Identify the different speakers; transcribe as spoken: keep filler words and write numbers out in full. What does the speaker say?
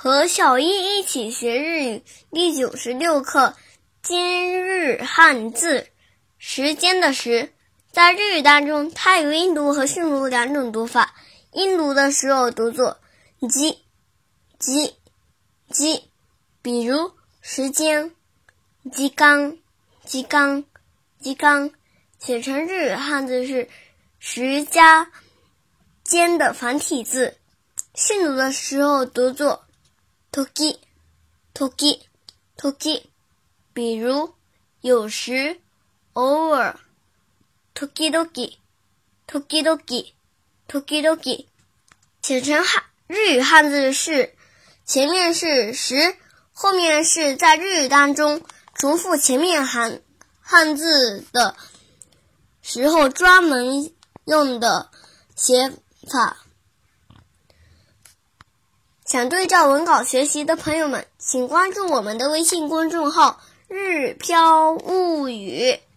Speaker 1: 和小易一起学日语第九十六课今日汉字。时间的时，在日语当中，它有音读和训读两种读法。音读的时候读作じ、じ、じ，比如时间、時間、時間、時間，写成日语汉字是时加间的繁体字。训读的时候读作時、時、時，比如有时、偶尔、時々、時々、時々。写成汉日语汉字是前面是时，后面是在日语当中重复前面汉汉字的时候专门用的写法。想对照文稿学习的朋友们，请关注我们的微信公众号日飘物语。